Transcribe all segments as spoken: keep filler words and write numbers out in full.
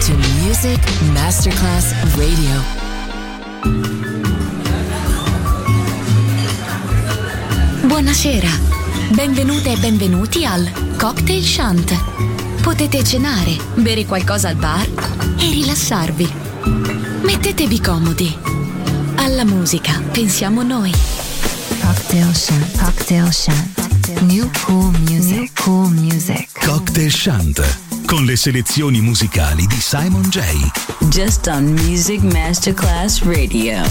to Music Masterclass Radio. Buonasera, benvenute e benvenuti al Cocktail Shant. Potete cenare, bere qualcosa al bar e rilassarvi. Mettetevi comodi. Alla musica pensiamo noi. Cocktail Shant, Cocktail Shant. New cool music, New cool music. Cocktail Shant, con le selezioni musicali di Simon J. Just on Music Masterclass Radio.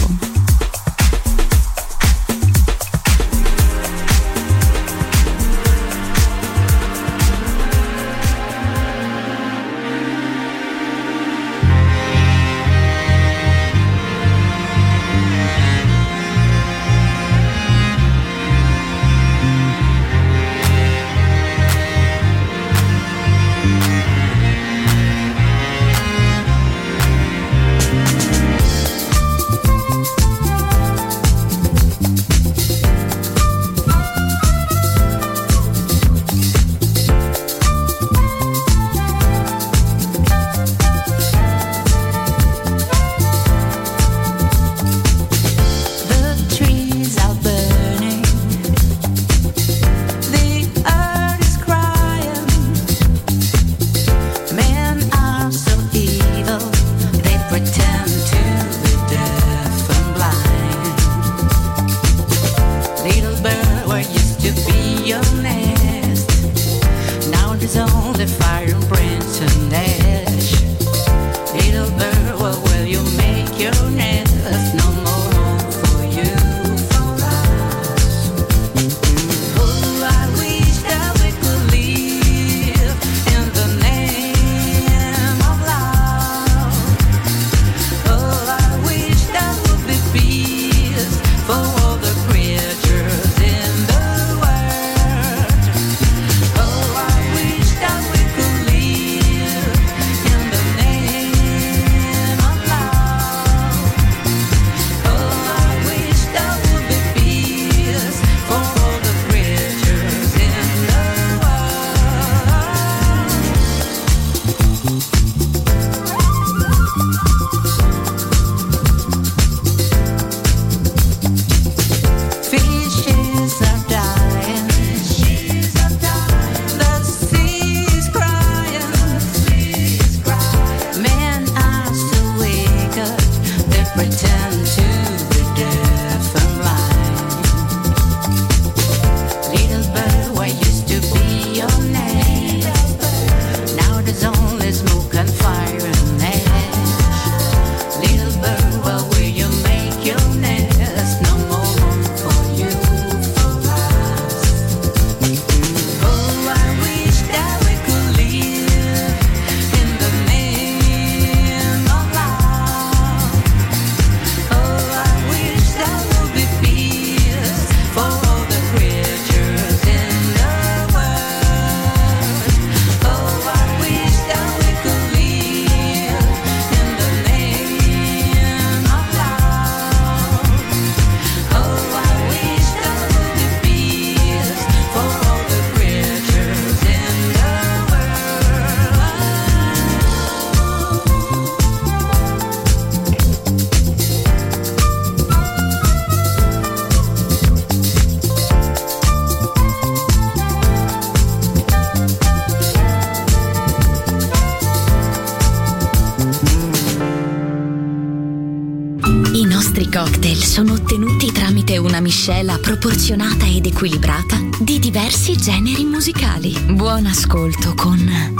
Sono ottenuti tramite una miscela proporzionata ed equilibrata di diversi generi musicali. Buon ascolto con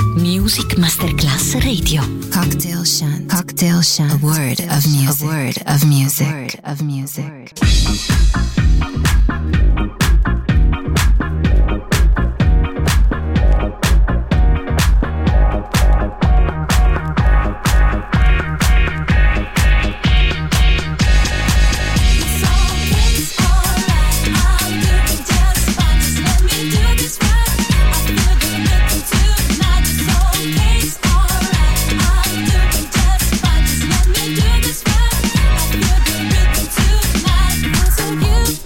Music Masterclass Radio. Cocktail Shant, Cocktail Shant. A word of music, a word of music, a word of music. You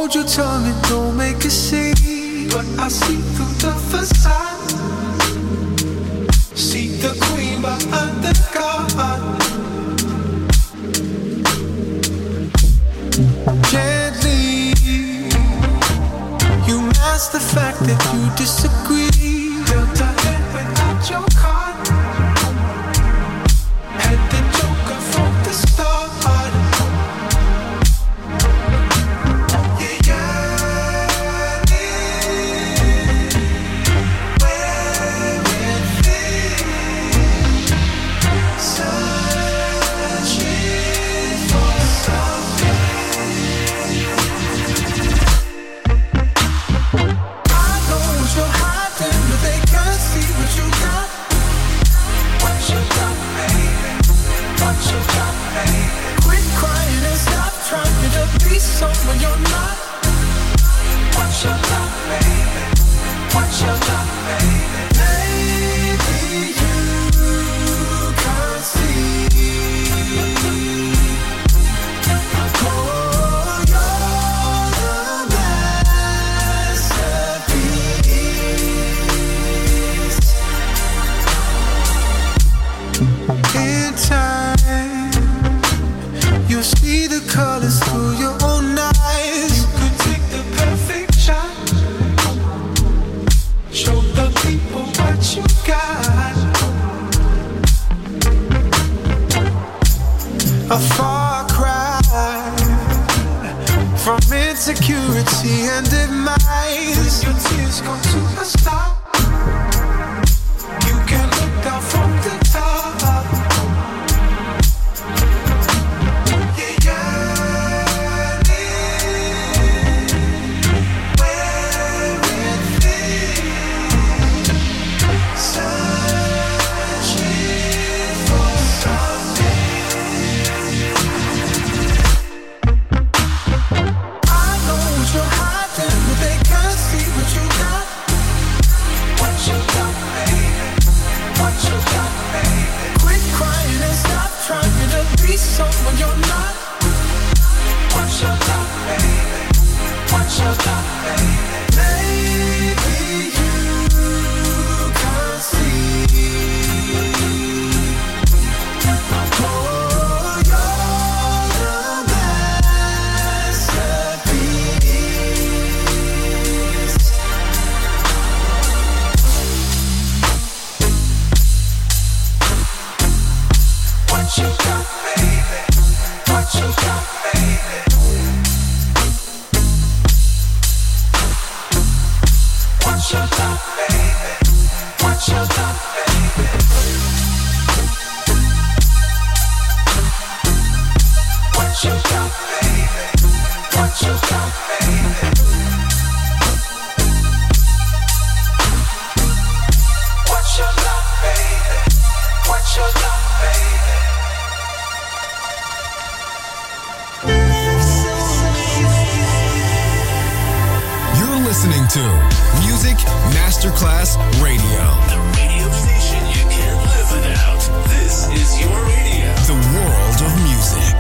hold your tongue and don't make a scene, but I see through the facade. See the queen behind the god. Can't leave. You mask the fact that you disagree. Built a head without your card. Had the joker from the start. Someone you're not. Watch your love, baby. Watch your love, baby. Maybe you can't see. Oh, you're the masterpiece. In time, you'll see the colors through your own eyes. You could take the perfect shot. Show the people what you got. A far cry from insecurity and demise. Your tears come to a stop. You can look down from the top. Someone you're not. Watch your love, baby. Watch your love, baby. Maybe you can't see. Oh, you're the masterpiece. Watch your love. What you got, baby? What you got, baby? What you got, baby? What you got, baby? What you got, baby? What you got, baby? What you got, baby? Listening to Music Masterclass Radio. The radio station you can't live without. This is your radio. The world of music.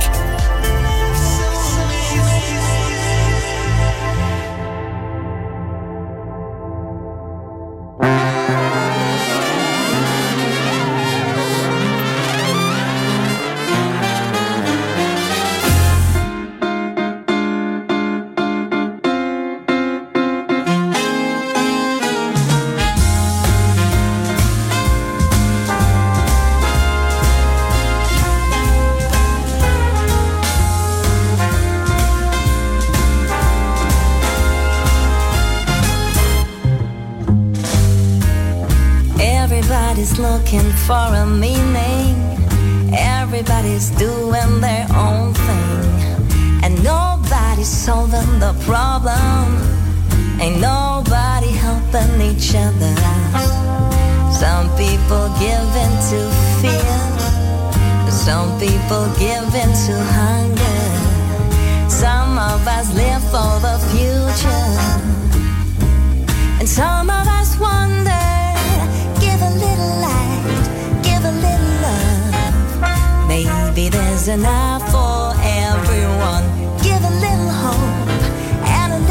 Everybody's looking for a meaning. Everybody's doing their own thing. And nobody's solving the problem. Ain't nobody helping each other. Some people give in to fear. Some people give in to hunger. Some of us live for the future. And some of us wonder. Give a little light, give a little love. Maybe there's enough for everyone. Give a little hope and a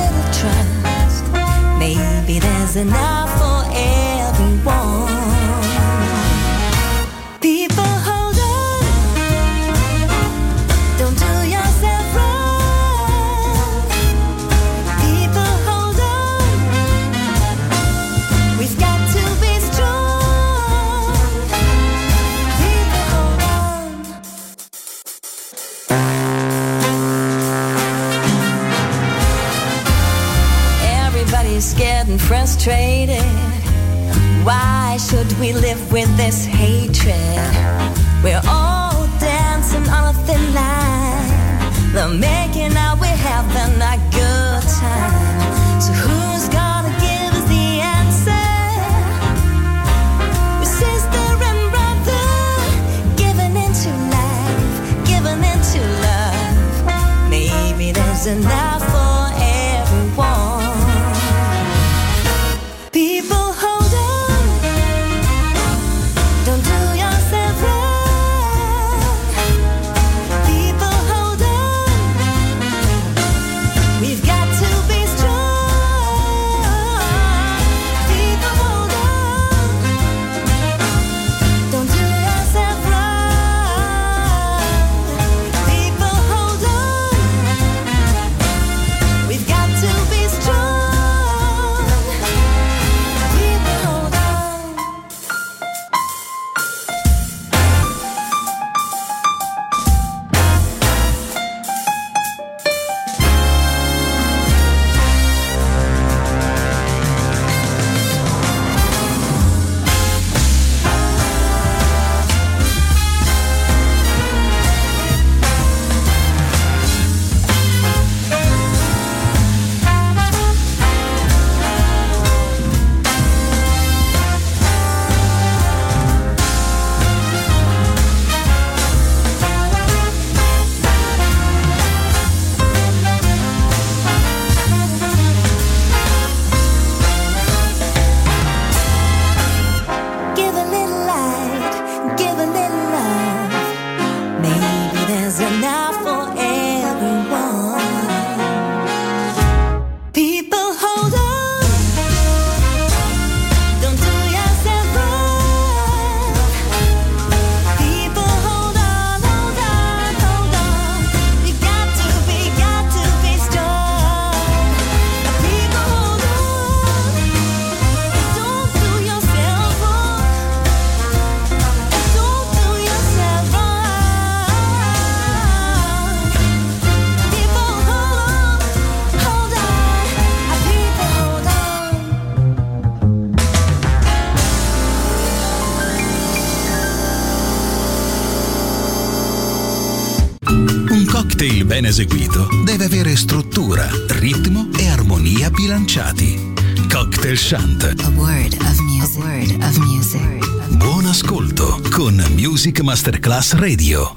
there's enough for everyone. People, hold on, don't do yourself wrong. People, hold on, we've got to be strong. People, hold on. Everybody's scared and frustrated. Why should we live with this hatred? We're all dancing on a thin line. They're making out we're having a good time. So who's gonna give us the answer? We're sister and brother, giving into life, giving into love. Maybe there's enough for everyone. People, hold on, don't do yourself wrong. People, hold on, we've got to be strong. People, hold on, don't do yourself wrong. People, hold on, we've got to be strong. People, hold on. Give a little light, give a little love. Maybe there's enough for everyone. People, hold on, don't do yourself wrong. People, hold on, hold on, hold on. We got to be, got to be strong. People, hold on, don't do yourself wrong. Don't do yourself wrong. People, hold on, hold on. People, hold on. Un cocktail ben eseguito deve avere struttura, ritmo e armonia bilanciati. Cocktail Shant. A word of music. A word of music. Buon ascolto con Music Masterclass Radio.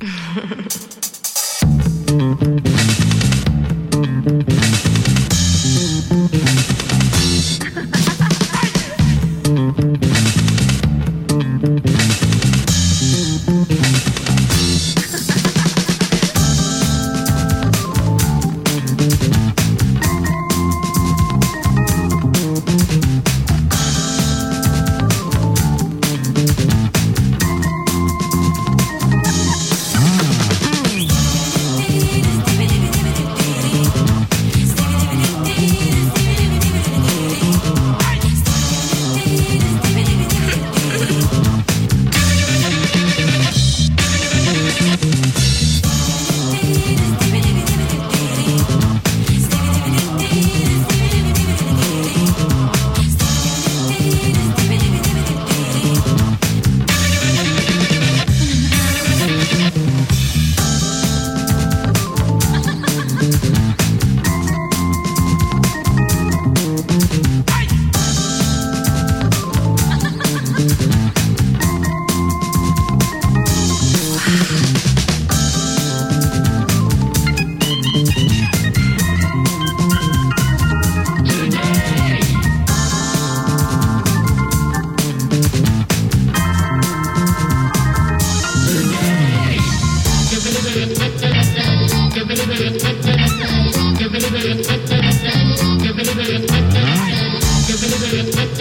Give it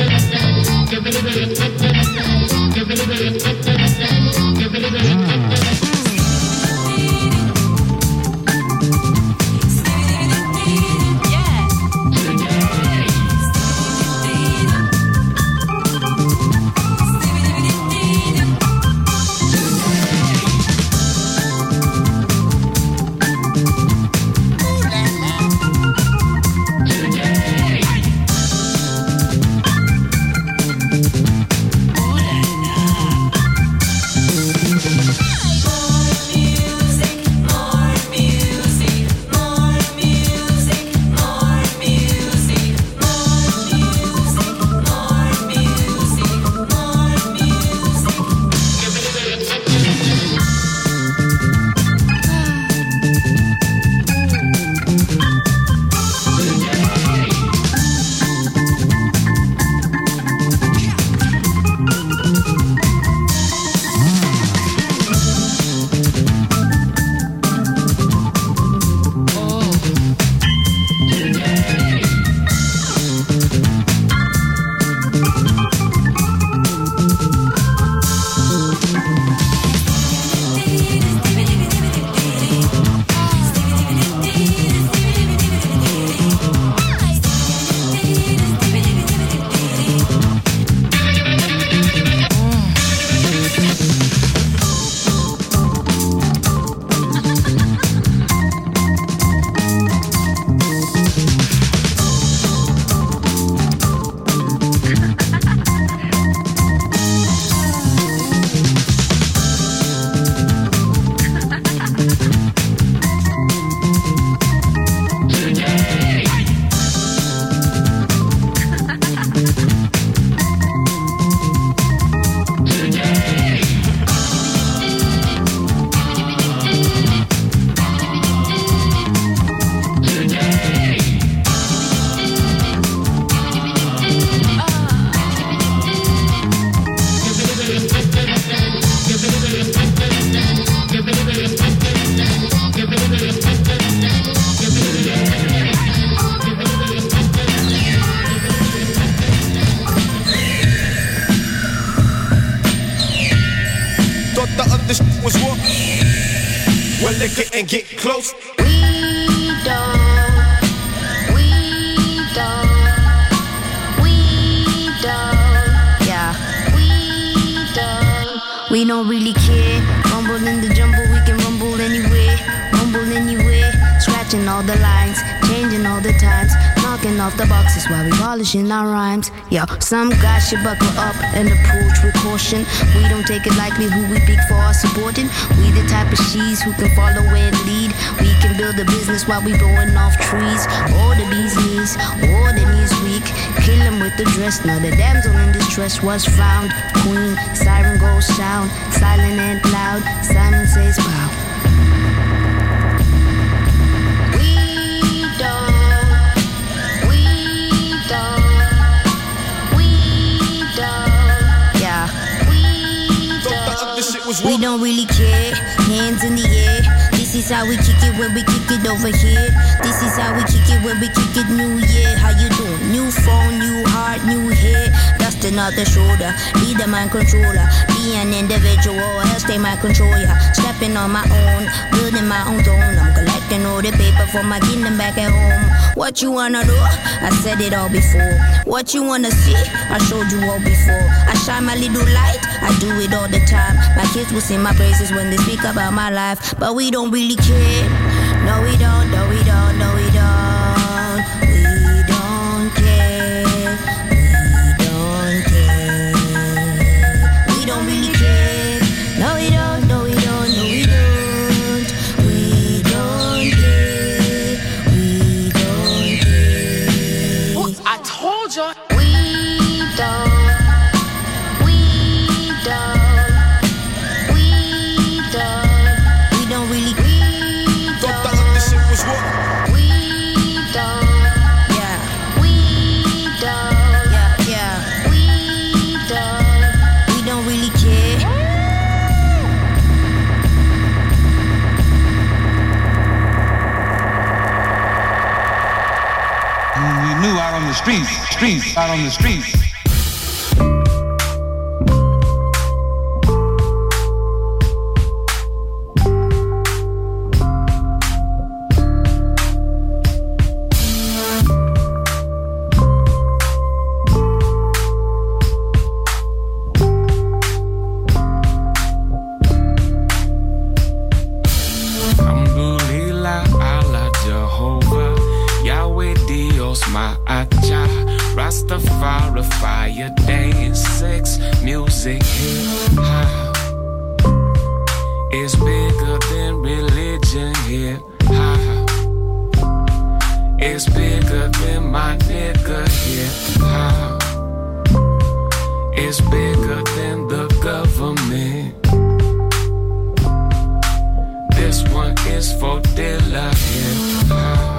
liquor and get close. We don't, we don't, we don't, yeah, we don't. We don't really care. Rumble in the jumble, we can rumble anywhere, rumble anywhere. Scratching all the lines, changing all the times, knocking off the boxes while we polishing our rhymes. Yo, some guys should buckle up and approach with caution. We don't take it lightly who we pick for our supporting. We the type of she's who can follow and lead. We can build a business while we blowing off trees. Or the bee's knees, or the knees weak. Kill him with the dress, now the damsel in distress was found. Queen, siren goes sound, silent and loud. Simon says wow. We don't really care, hands in the air. This is how we kick it when we kick it over here. This is how we kick it when we kick it New Year. How you doing? New phone, new heart, new hair. Dusting off the shoulder, be the mind controller. Be an individual, else they might control ya. Stepping on my own, building my own throne. I'm collecting all the paper for my kingdom back at home. What you wanna do? I said it all before. What you wanna see? I showed you all before. I shine my little light, I do it all the time. My kids will sing my praises when they speak about my life. But we don't really care. No we don't, no we don't, no we don't. We don't care. We don't care. We don't really care. No we don't, no we don't, no we don't. We don't care. We don't care. Ooh, I told you. We don't. Out on the streets, streets, out on the streets. Rastafari, fire, dance, sex, music, hip hop. It's bigger than religion, hip hop. It's bigger than my nigga, hip hop. It's bigger than the government. This one is for Dilla, hip hop.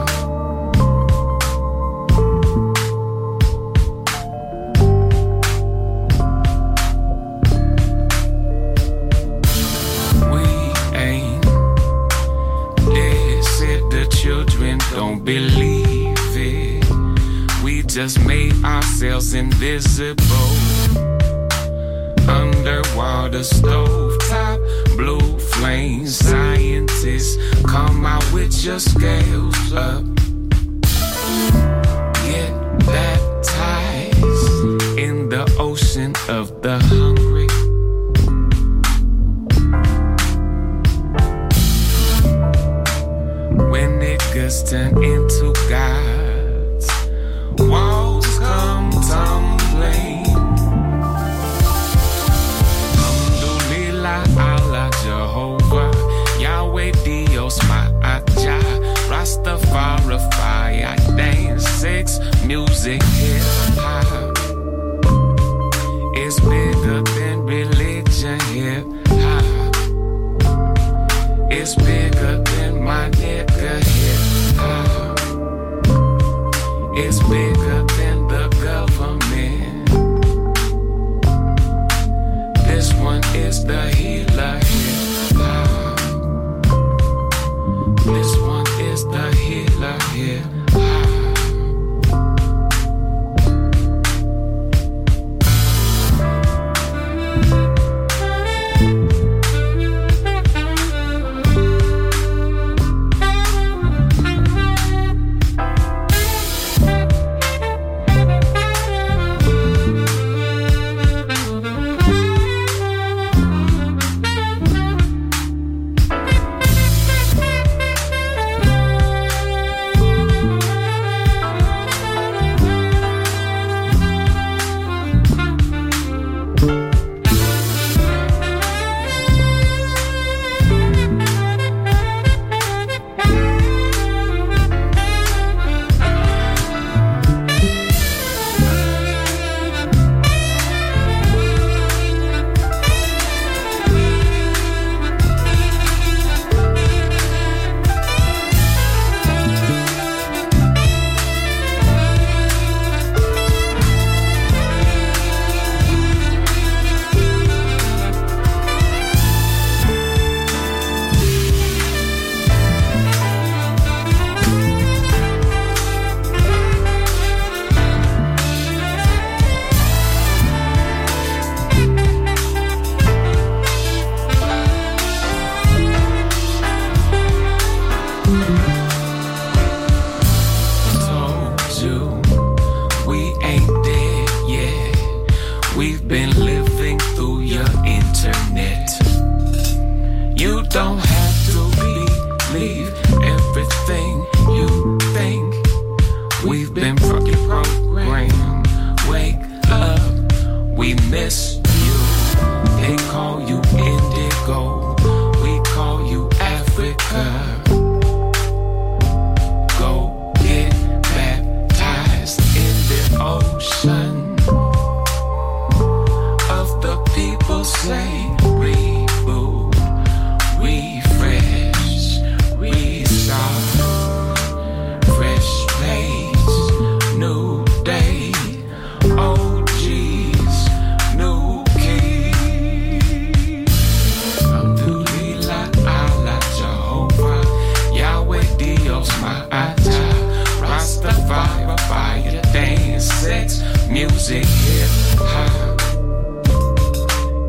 Don't believe it. We just made ourselves invisible. Underwater stovetop, blue flames. Scientists, come out with your scales up. Get baptized in the ocean of the hungry. When niggas turn into gods, walls come tumbling. Alhamdulillah, Allah, Jehovah, Yahweh, Dios, Ma'aja, Rastafari, fire, dance, sex, music, hip hop. It's bigger than religion, hip hop. It's bigger than my nigga, hip hop. It's bigger than the government. This one is the healer, hip hop. This one is the healer, hip hop.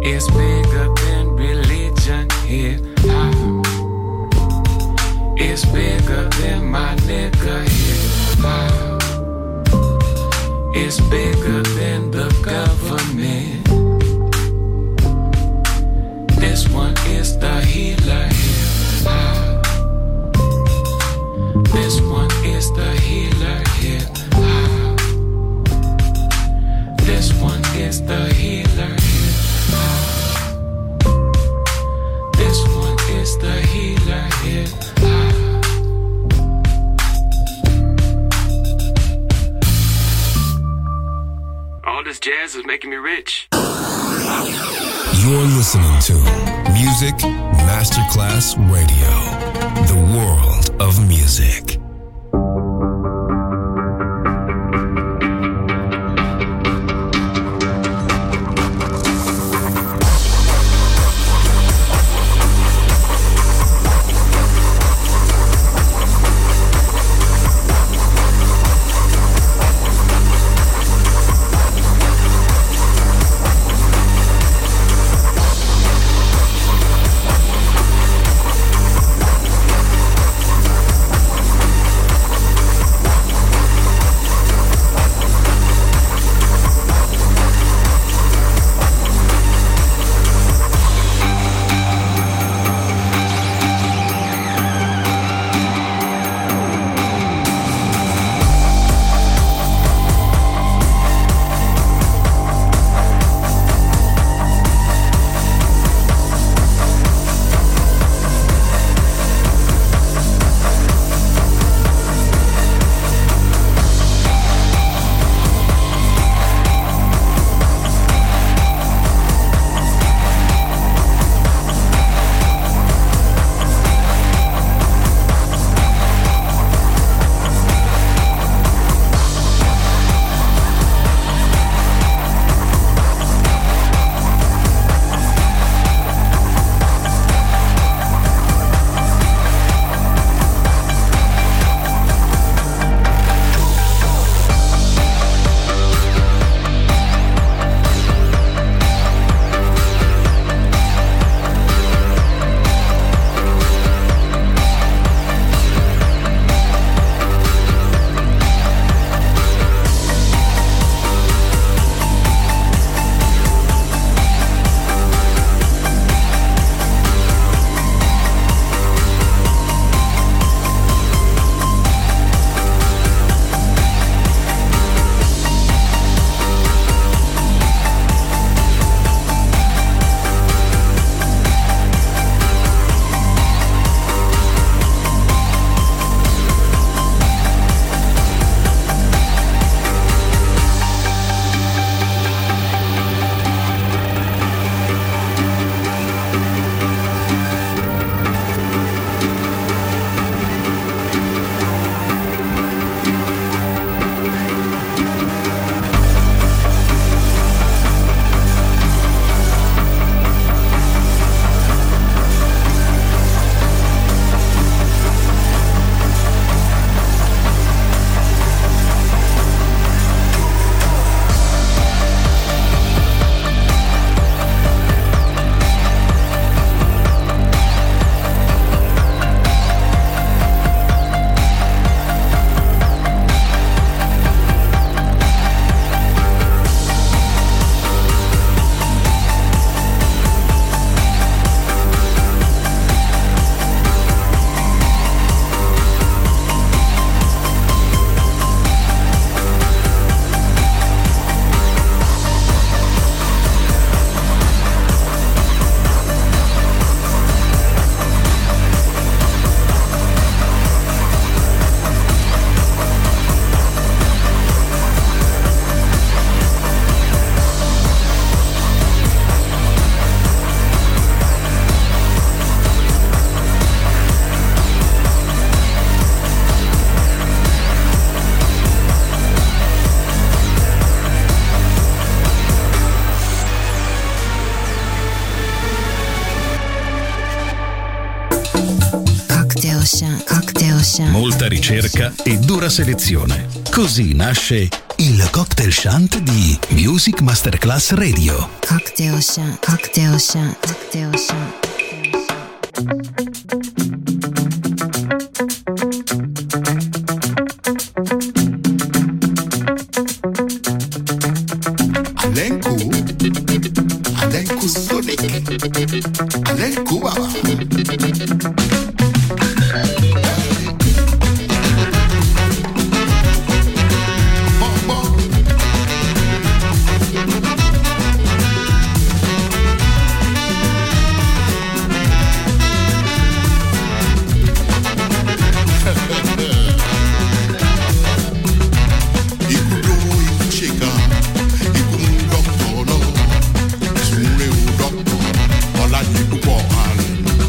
It's bigger than religion here. Ah. It's bigger than my nigga here. Ah. It's bigger than the government. This one is the healer here. Ah. This one is the healer here. Ah. This one is the healer here. Ah. This one is the healer here. Ah. All this jazz is making me rich. You're listening to Music Masterclass Radio, the world of music. Molta ricerca e dura selezione. Così nasce il cocktail shant di Music Masterclass Radio. Cocktail shant, cocktail shant, cocktail shant. Alenku, Alenku Sonic, Alenku Baba. All I need to walk on.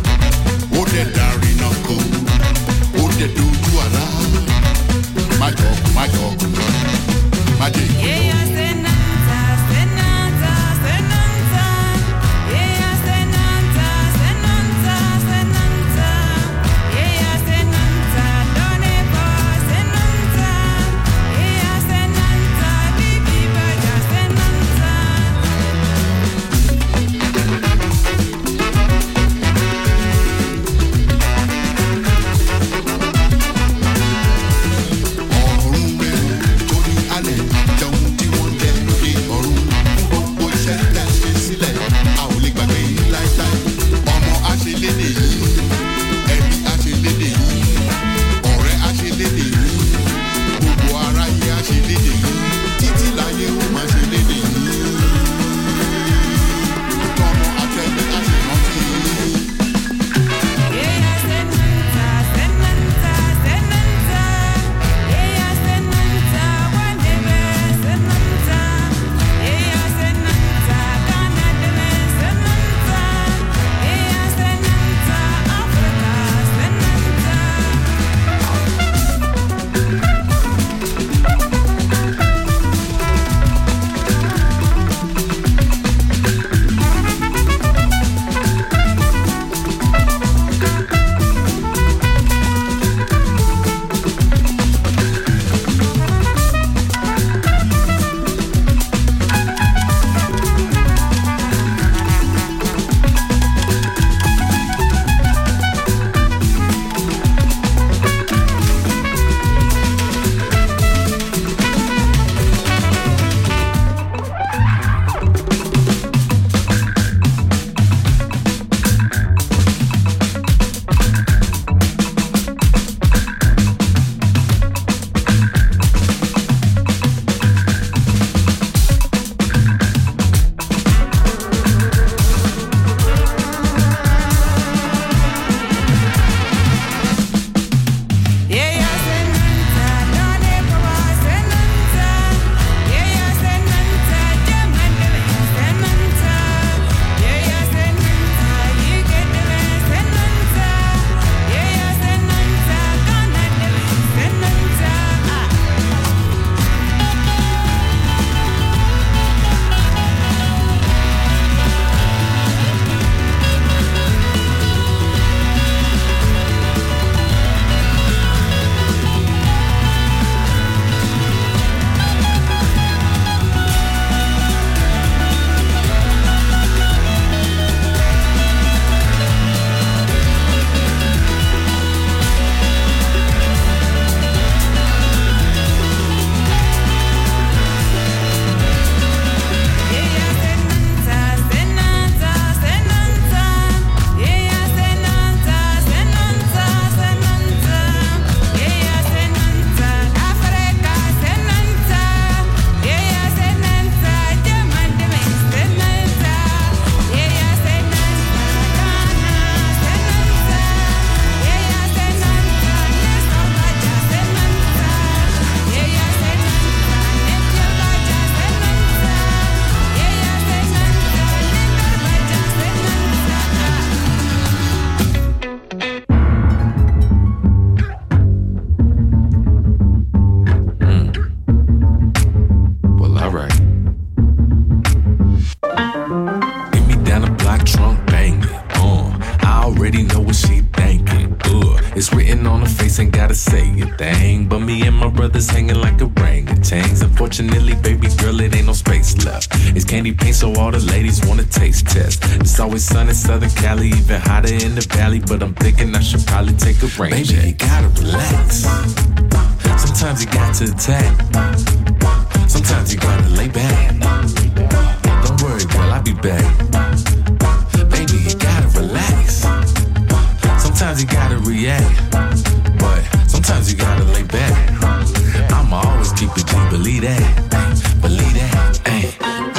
say a thing, but me and my brothers hanging like orangutans. Unfortunately, baby girl, it ain't no space left. It's candy paint, so all the ladies wanna taste test. It's always sun in Southern Cali, even hotter in the valley, but I'm thinking I should probably take a rain Baby, check. You gotta relax. Sometimes you got to attack. Sometimes you gotta lay back. Don't worry, girl, I'll be back. Baby, you gotta relax. Sometimes you gotta react, but sometimes you gotta lay back. I'ma always keep it G, believe that, believe that. Ay.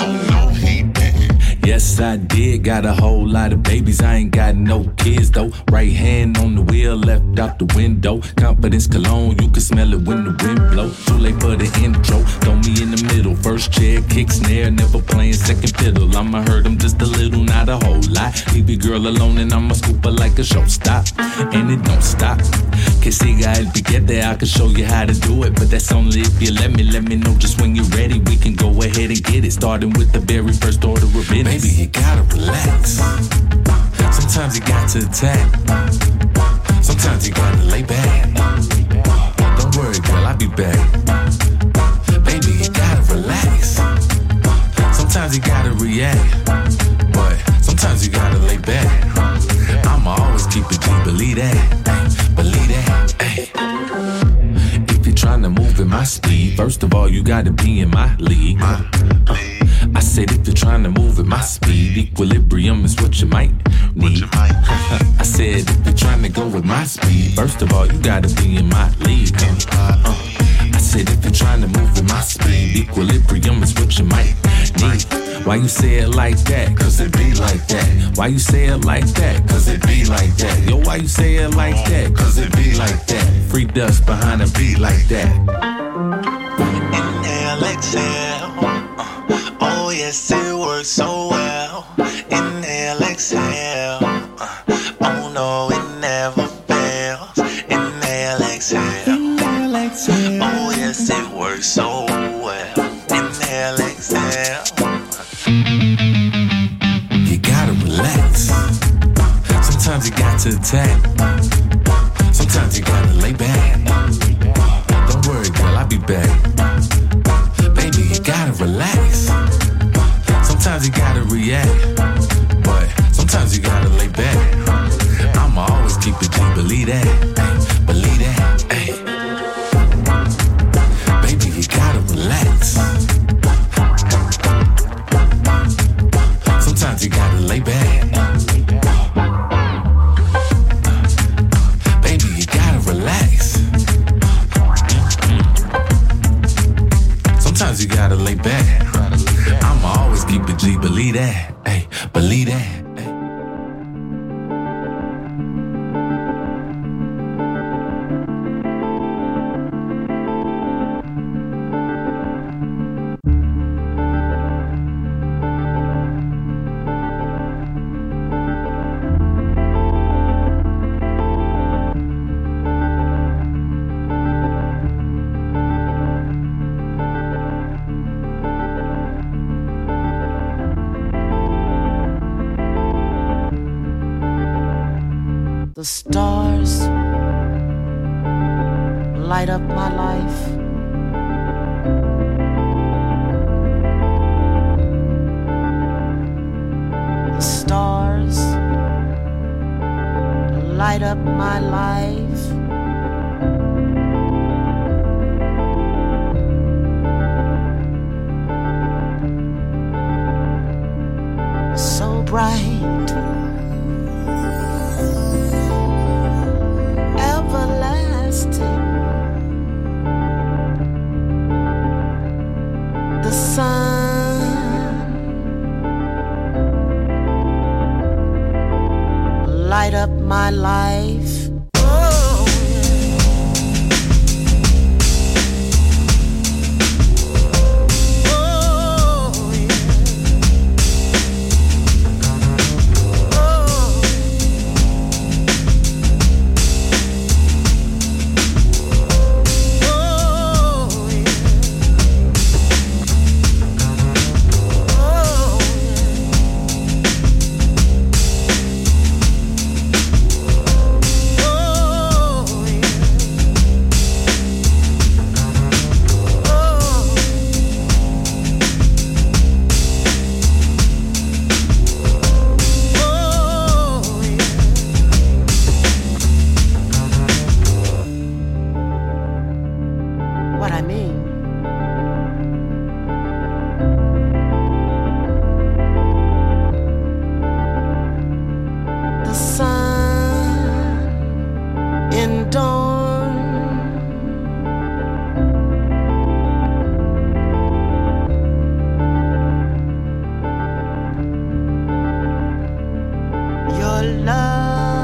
Yes, I did. Got a whole lot of babies. I ain't got no kids, though. Right hand on the wheel, left out the window. Confidence cologne, you can smell it when the wind blow. Too late for the intro, throw me in the middle. First chair, kick, snare, never playing second fiddle. I'ma hurt them just a little, not a whole lot. Leave your girl alone and I'ma scoop her like a showstop. And it don't stop. Que siga el piquete, I can show you how to do it. But that's only if you let me, let me know just when you're ready. We can go ahead and get it, starting with the very first order of business. Baby, you gotta relax. Sometimes you got to attack. Sometimes you gotta lay back. Don't worry, girl, I'll be back. Baby, you gotta relax. Sometimes you gotta react, but sometimes you gotta lay back. I'ma always keep it G, believe that, believe that. Ay. If you're trying to move at my speed, first of all, you gotta be in my league. Uh, I said if you're trying to move at my speed, equilibrium is what you might need. I said if you're trying to go with my speed, first of all, you gotta be in my league. Uh, uh, I said if you're trying to move at my speed, equilibrium is what you might need. Why you say it like that? Cause it be like that. Why you say it like that? Cause it be like that. Yo, why you say it like that? Cause it be like that. Free dust behind a beat like that. Inhale, exhale. Uh, oh yes, it works so well. Inhale, exhale. Uh, oh no, it never fails. Inhale, exhale. Inhale, exhale. Oh yes, it works so well. Inhale, exhale. You gotta relax. Sometimes you got to attack. Sometimes you gotta lay back. Don't worry, girl, I'll be back. Baby, you gotta relax. Sometimes you gotta react, but sometimes you gotta lay back. I'ma always keep it G, believe that, believe that. Ay. Baby, you gotta relax. Sometimes you gotta lay back. Baby, you gotta relax. Sometimes you gotta lay back. I'ma always keep it G, believe that, ay, believe that. The stars light up my life. The stars light up my life. So bright, the sun light up my life. Oh. I mean. The sun in dawn, your love.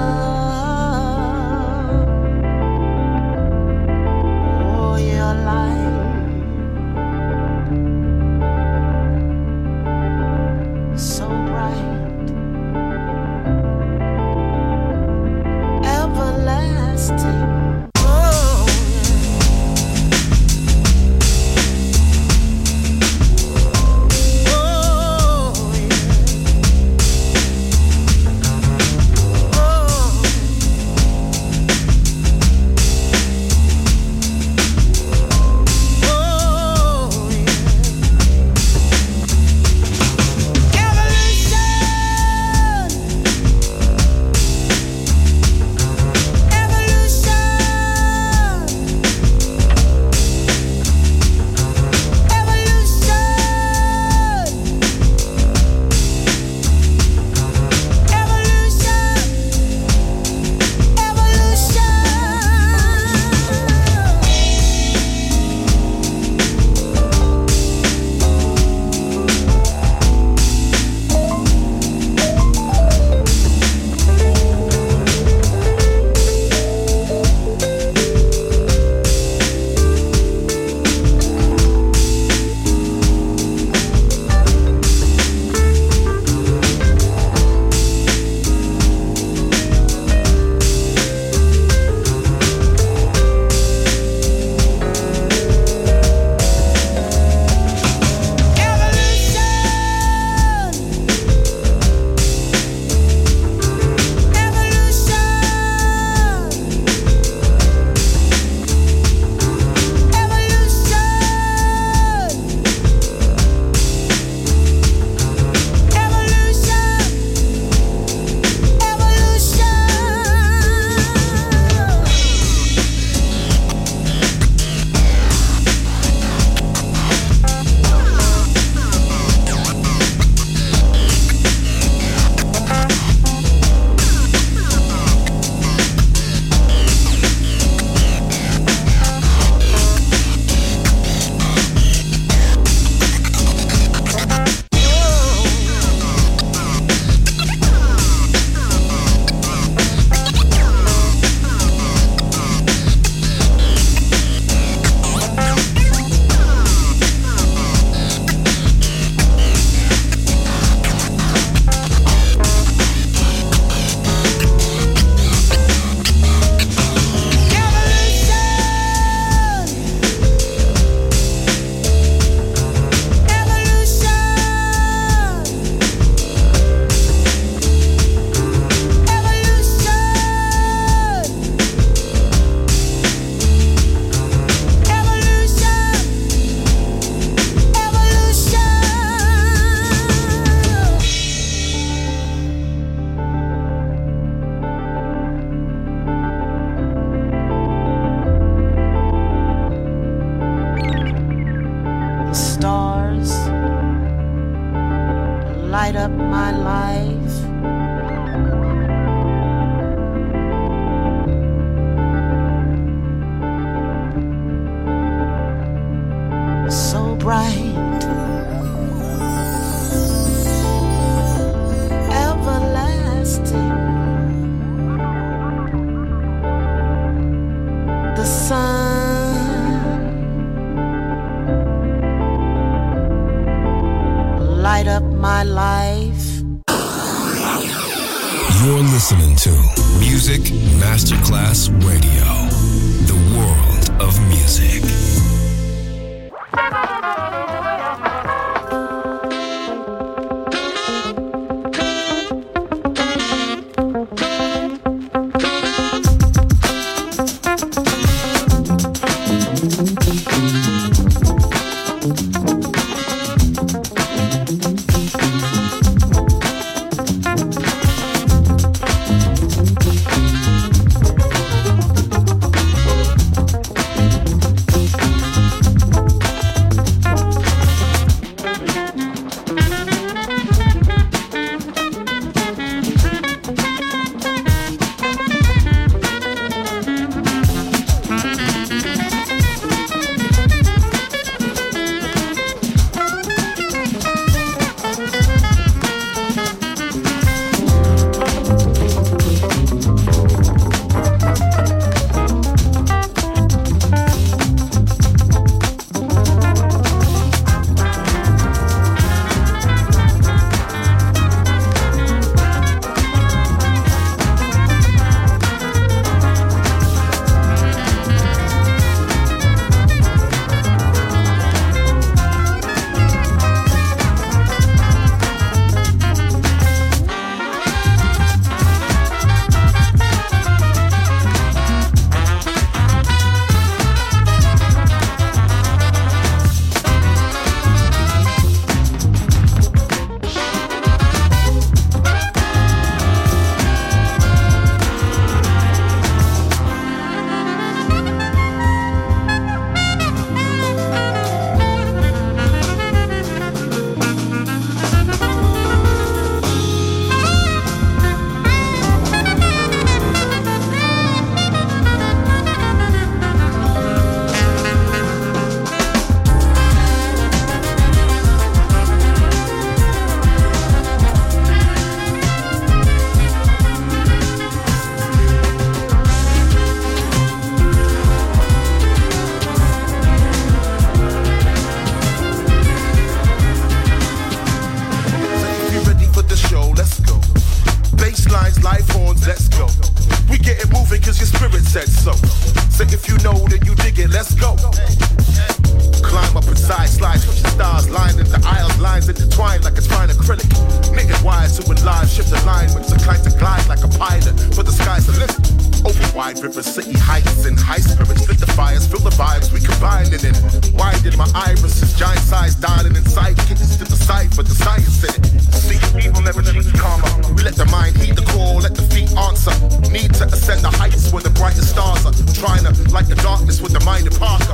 Light up my life. So bright, everlasting. The sun light up my life. You're listening to Music Masterclass Radio, the world of music. Climb up inside, slide, switch the stars, line in the aisles, lines intertwined like it's fine acrylic. Niggas wired to enlarge, shift alignments, inclined to glide like a pilot, for the sky's the limit. Open wide rivers, city heights and high spirits, lit the fires, feel the vibes, we combined in it. Winded my irises, giant size, dialing inside, kittens to the side, but the science in it. See, evil never cheats karma. We let the mind heed the call, let the feet answer. Need to ascend the heights where the brightest stars are. Trying to light the darkness with the mind of Parker.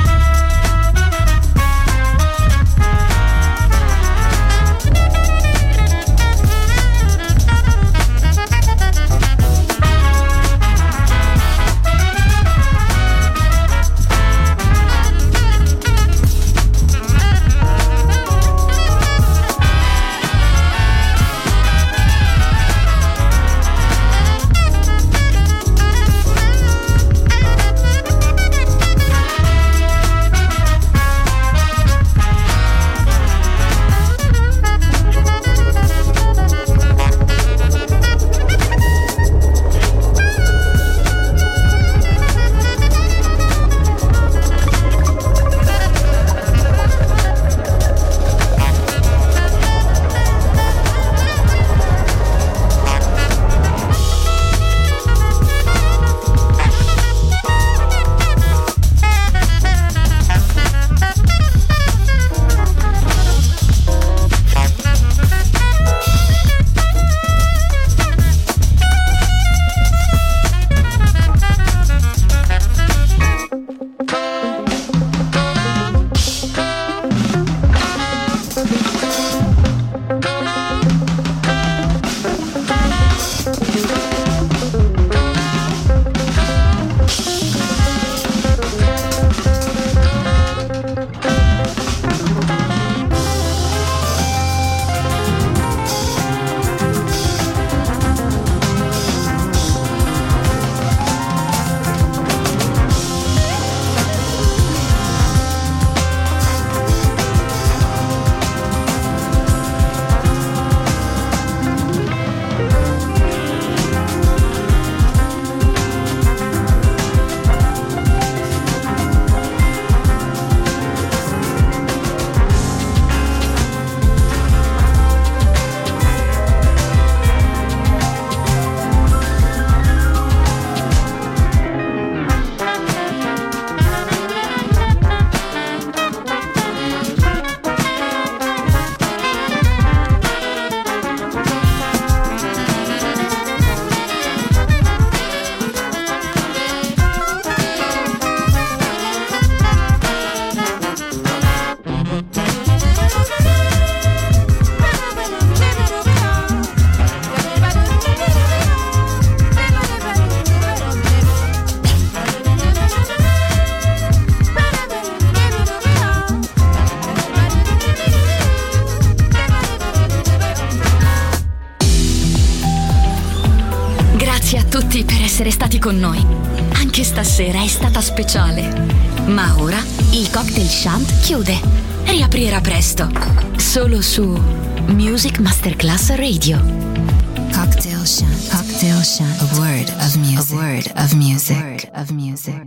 Essere stati con noi. Anche stasera è stata speciale. Ma ora il Cocktail Shant chiude. Riaprirà presto. Solo su Music Masterclass Radio. Cocktail Shant. Cocktail Shant. A word of music. A word of music. A word of music.